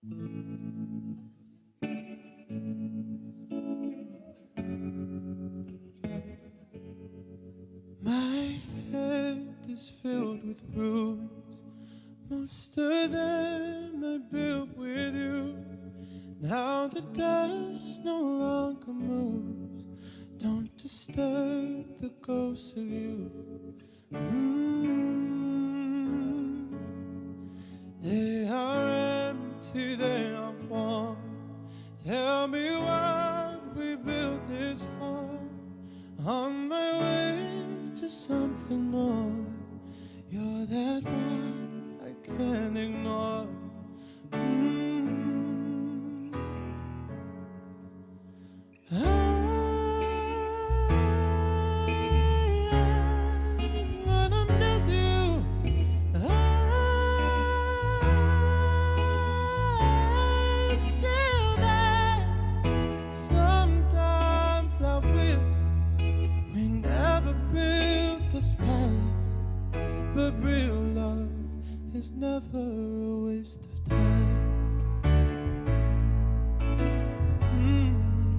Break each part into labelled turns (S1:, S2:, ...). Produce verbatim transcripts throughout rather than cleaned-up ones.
S1: My head is filled with ruins. Most of them are built with you. Now the dust no longer moves. Don't disturb the ghost of you. Mm. They are empty, they are warm. Tell me what we built this for. On my way to something more. You're that one I can't ignore. Mm. I, I'm gonna miss you. I'm still there. Sometimes I wish we never built this palace, but real love is never a waste of time. Mm.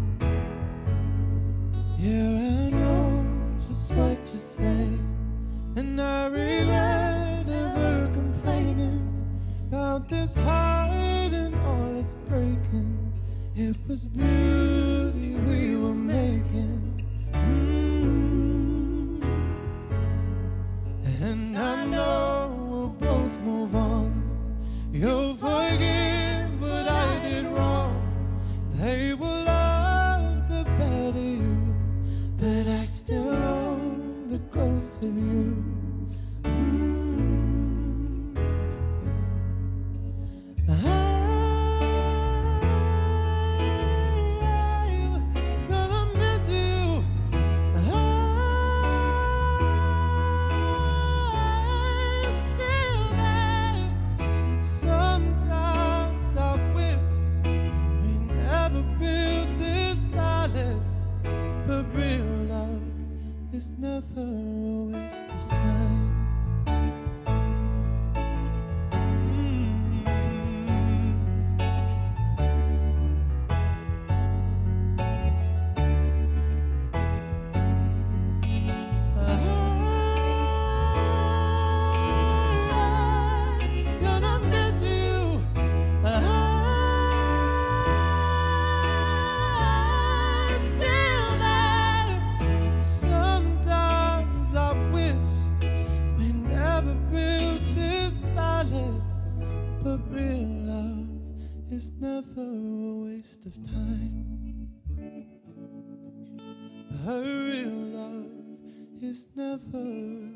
S1: Yeah, I know just what you're saying, and I regret ever complaining about this heart and all it's breaking. It was beauty we were making. Mm. And I know we'll both move on. You'll forgive what I did wrong. They will love the better you, but I still own the ghost of you. Mm. I'm gonna miss you. I'm still there. Sometimes I wish we never built this palace, but real love is never a waste of time. Mm. I'm gonna miss you. I'm still there. Sometimes I wish we never built this palace, but real love is never a waste of time. But real love is never